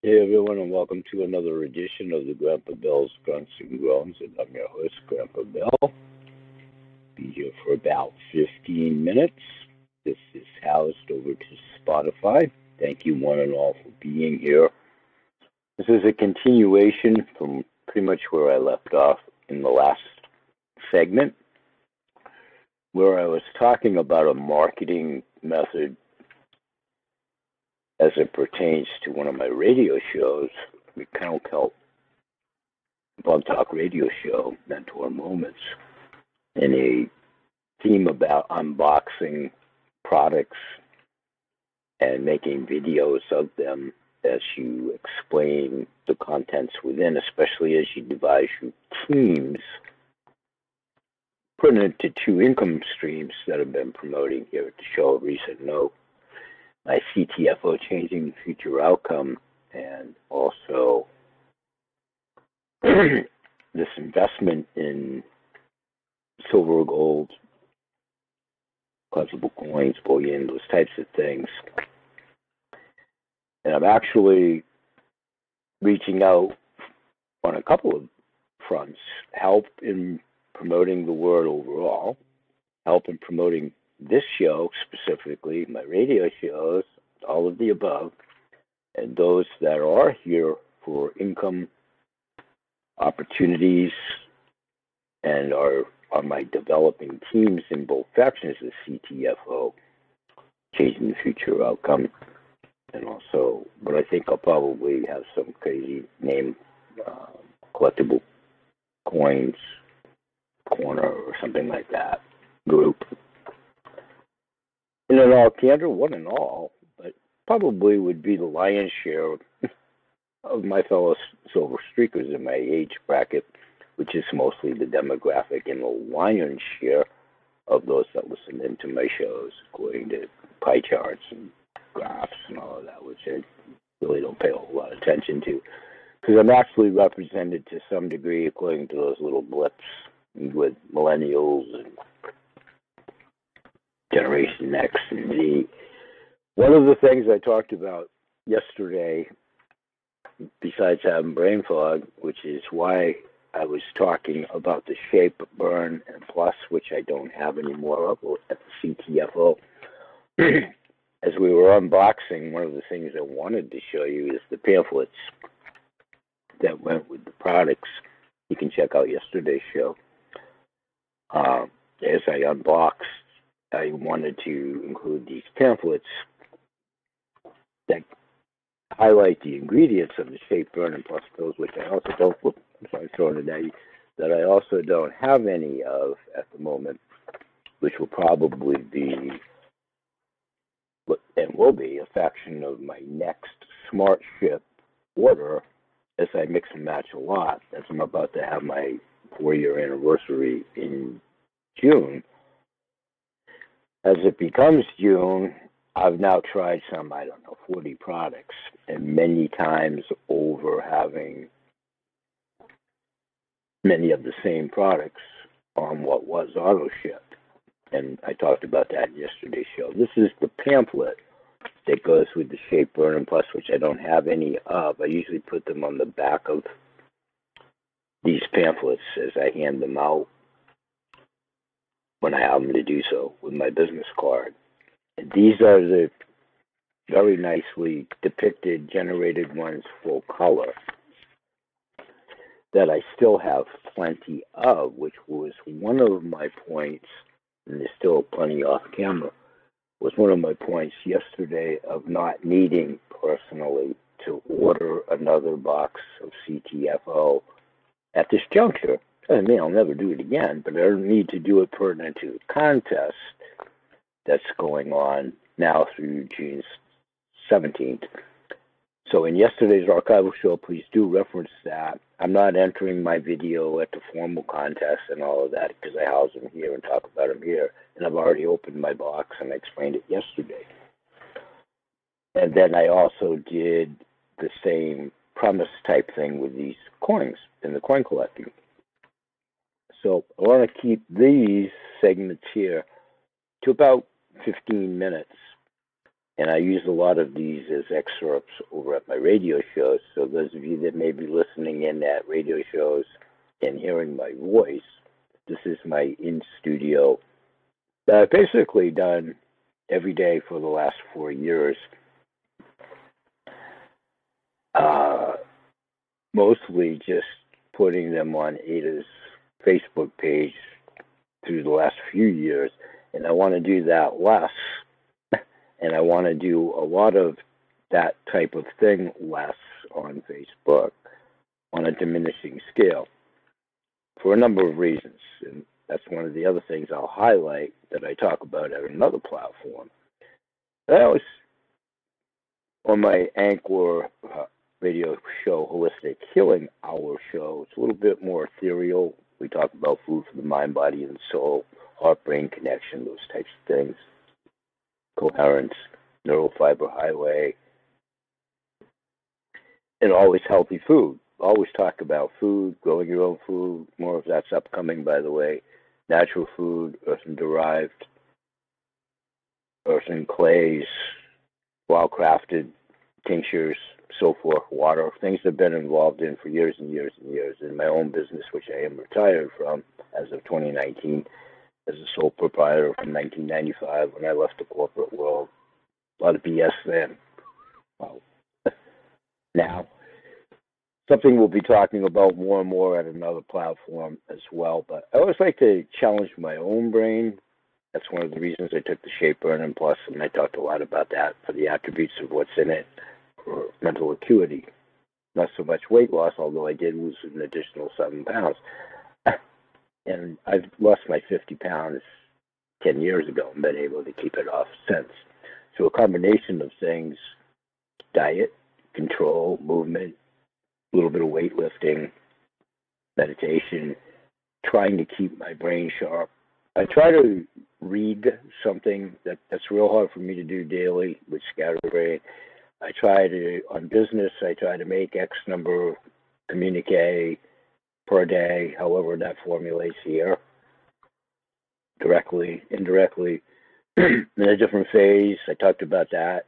Hey everyone, and welcome to another edition of the Grandpa Bill's Grunts and Groans, and I'm your host, Grandpa Bill. Be here for about 15 minutes. This is housed over to Spotify. Thank you one and all for being here. This is a continuation from pretty much where I left off in the last segment, where I was talking about a marketing method as it pertains to one of my radio shows, the Kennel Kelp Blog Talk radio show, Mentor Moments, and a theme about unboxing products and making videos of them as you explain the contents within, especially as you devise your teams, putting it to two income streams that I've been promoting here at the show. A recent note, my CTFO Changing the Future Outcome, and also this investment in silver, gold, collectible coins, bullion, those types of things. And I'm actually reaching out on a couple of fronts, help in promoting the word overall, help in promoting this show specifically, my radio shows, all of the above, and those that are here for income opportunities and are my developing teams in both factions of CTFO, Changing the Future Outcome, and also, but I think I'll probably have some crazy name, collectible coins corner or something like that group. And in all candor, one and all, but probably would be the lion's share of my fellow silver streakers in my age bracket, which is mostly the demographic, and the lion's share of those that listen into my shows, according to pie charts and graphs and all of that, which I really don't pay a whole lot of attention to, because I'm actually represented to some degree according to those little blips with millennials and Generation X and Z. One of the things I talked about yesterday, besides having brain fog, which is why I was talking about the Shape, Burn, and Plus, which I don't have anymore of at the CTFO. As we were unboxing, one of the things I wanted to show you is the pamphlets that went with the products. You can check out yesterday's show. As I unboxed, I wanted to include these pamphlets that highlight the ingredients of the Shape, Burn, and Plus pills, which I also don't. I'm sorry, throwing it at you, that I also don't have any of at the moment, which will probably be and will be a faction of my next Smart Ship order as I mix and match a lot, as I'm about to have my 4-year anniversary in June. As it becomes June, I've now tried some, 40 products, and many times over having many of the same products on what was auto ship. And I talked about that in yesterday's show. This is the pamphlet that goes with the Shape, Burn, and Plus, which I don't have any of. I usually put them on the back of these pamphlets as I hand them out when I have them to do so with my business card. And these are the very nicely depicted, generated ones full color that I still have plenty of, which was one of my points, and there's still plenty off camera, was one of my points yesterday of not needing personally to order another box of CTFO at this juncture. I mean, I'll never do it again, but I don't need to do it pertinent to the contest that's going on now through June 17th. So in yesterday's archival show, please do reference that. I'm not entering my video at the formal contest and all of that because I house them here and talk about them here. And I've already opened my box and I explained it yesterday. And then I also did the same premise type thing with these coins in the coin collecting. So I want to keep these segments here to about 15 minutes. And I use a lot of these as excerpts over at my radio shows. So those of you that may be listening in at radio shows and hearing my voice, this is my in-studio that I've basically done every day for the last 4 years. Mostly just putting them on Ada's Facebook page through the last few years. And I want to do that less. And I want to do a lot of that type of thing less on Facebook on a diminishing scale for a number of reasons. And that's one of the other things I'll highlight that I talk about at another platform. I always, on my Anchor radio show, Holistic Healing Hour show, it's a little bit more ethereal. We talk about food for the mind, body, and soul, heart-brain connection, those types of things, coherence, neural fiber highway, and always healthy food. Always talk about food, growing your own food. More of that's upcoming, by the way. Natural food, earthen-derived, earthen clays, well-crafted tinctures, so forth, water, things I've been involved in for years and years and years in my own business, which I am retired from as of 2019 as a sole proprietor from 1995 when I left the corporate world. A lot of BS then. Well, now, something we'll be talking about more and more at another platform as well, but I always like to challenge my own brain. That's one of the reasons I took the Shape Burn and Plus, and I talked a lot about that for the attributes of what's in it for mental acuity. Not so much weight loss, although I did lose an additional 7 pounds. And I've lost my 50 pounds 10 years ago and been able to keep it off since. So a combination of things, diet, control, movement, a little bit of weightlifting, meditation, trying to keep my brain sharp. I try to read something that's real hard for me to do daily with scatterbrain. I try to, on business, I try to make X number of communique per day, however that formulates here, directly, indirectly, in a different phase. I talked about that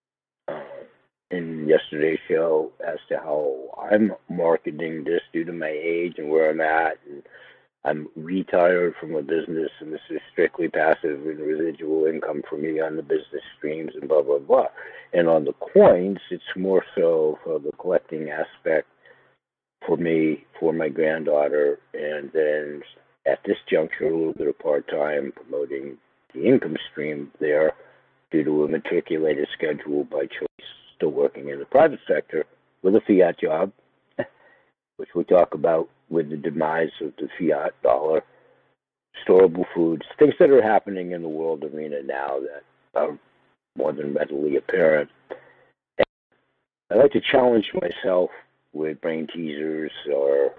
in yesterday's show as to how I'm marketing this due to my age and where I'm at. And I'm retired from a business, and this is strictly passive and residual income for me on the business streams and blah, blah, blah. And on the coins, it's more so for the collecting aspect for me, for my granddaughter, and then at this juncture, a little bit of part-time promoting the income stream there due to a matriculated schedule by choice, still working in the private sector with a fiat job, which we talk about with the demise of the fiat dollar, storable foods, things that are happening in the world arena now that are more than readily apparent. And I like to challenge myself with brain teasers or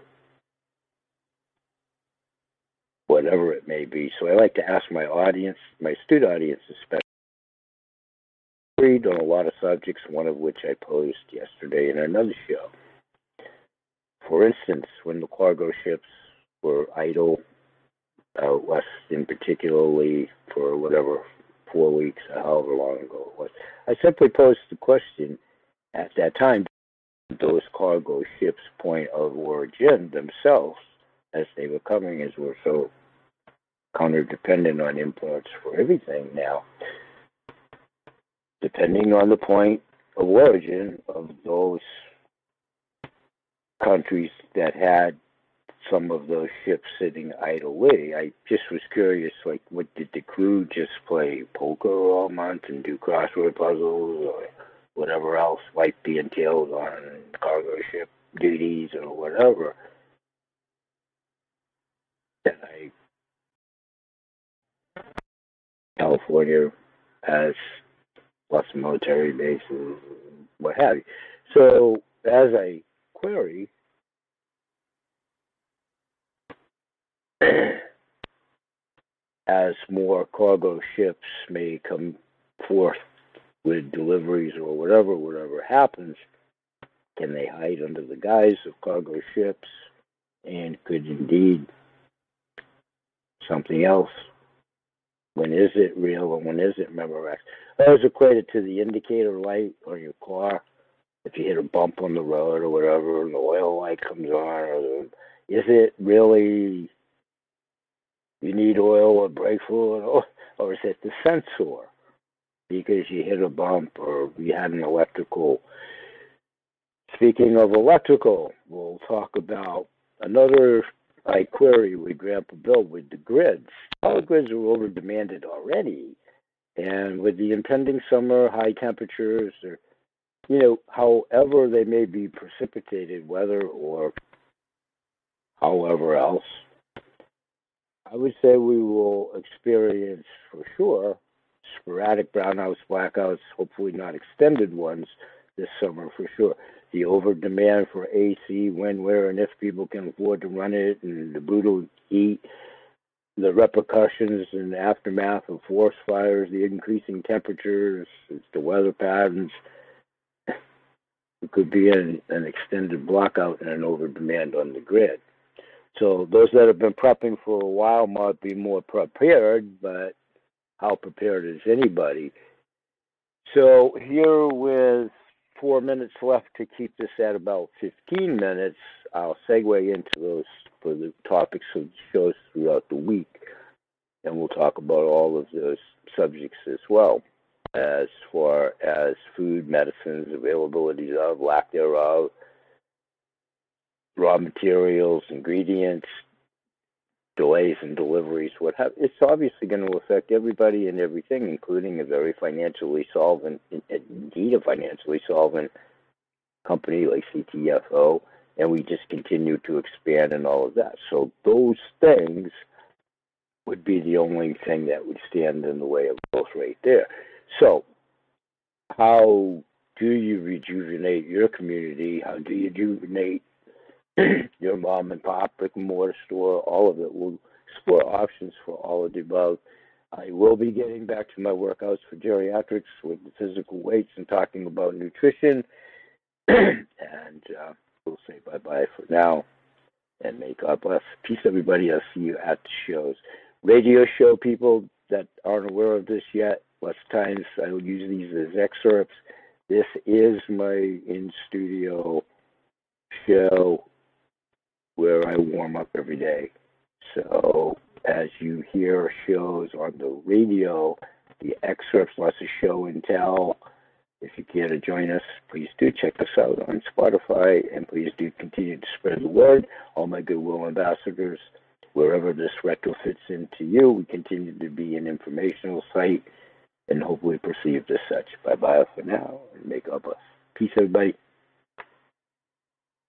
whatever it may be. So I like to ask my audience, my astute audience especially, read on a lot of subjects, one of which I posed yesterday in another show. For instance, when the cargo ships were idle out west, in particularly for whatever 4 weeks or however long ago it was, I simply posed the question at that time: those cargo ships' point of origin themselves, as they were coming, as we're so counter-dependent on imports for everything now, depending on the point of origin of those countries that had some of those ships sitting idly. I just was curious, like, what did the crew just play poker all month and do crossword puzzles or whatever else might be entailed on cargo ship duties or whatever? That California has lots of military bases, what have you. So as I query, as more cargo ships may come forth with deliveries or whatever happens, can they hide under the guise of cargo ships? And could indeed something else? When is it real and when is it Memorex? I always equate it to the indicator light on your car. If you hit a bump on the road or whatever, and the oil light comes on, is it really you need oil or brake fluid, or is it the sensor because you hit a bump or you had an electrical? Speaking of electrical, we'll talk about another I query with Grandpa Bill with the grids. Power grids are over demanded already, and with the impending summer, high temperatures, or however they may be precipitated, weather or however else, I would say we will experience for sure sporadic brownouts, blackouts, hopefully not extended ones this summer for sure. The over demand for AC, when, where, and if people can afford to run it, and the brutal heat, the repercussions and aftermath of forest fires, the increasing temperatures, the weather patterns. It could be an extended blackout and an over demand on the grid. So those that have been prepping for a while might be more prepared, but how prepared is anybody? So here with 4 minutes left to keep this at about 15 minutes, I'll segue into those for the topics of the shows throughout the week, and we'll talk about all of those subjects as well, as far as food, medicines, availability of, lack thereof, raw materials, ingredients, delays in deliveries, what have. It's obviously going to affect everybody and everything, including a very financially solvent, indeed a financially solvent company like CTFO, and we just continue to expand and all of that. So those things would be the only thing that would stand in the way of growth right there. So how do you rejuvenate your community? How do you rejuvenate your mom and pop brick and mortar store? All of it. We'll explore options for all of the above. I will be getting back to my workouts for geriatrics with the physical weights and talking about nutrition. And we'll say bye-bye for now. And may God bless. Peace, everybody. I'll see you at the shows. Radio show people that aren't aware of this yet, lots of times I will use these as excerpts. This is my in-studio show where I warm up every day. So as you hear shows on the radio, the excerpts, lots of show and tell. If you care to join us, please do check us out on Spotify, and please do continue to spread the word. All my goodwill ambassadors, wherever this retrofits into you, we continue to be an informational site and hopefully perceived as such. Bye-bye for now, and may God bless. Peace, everybody.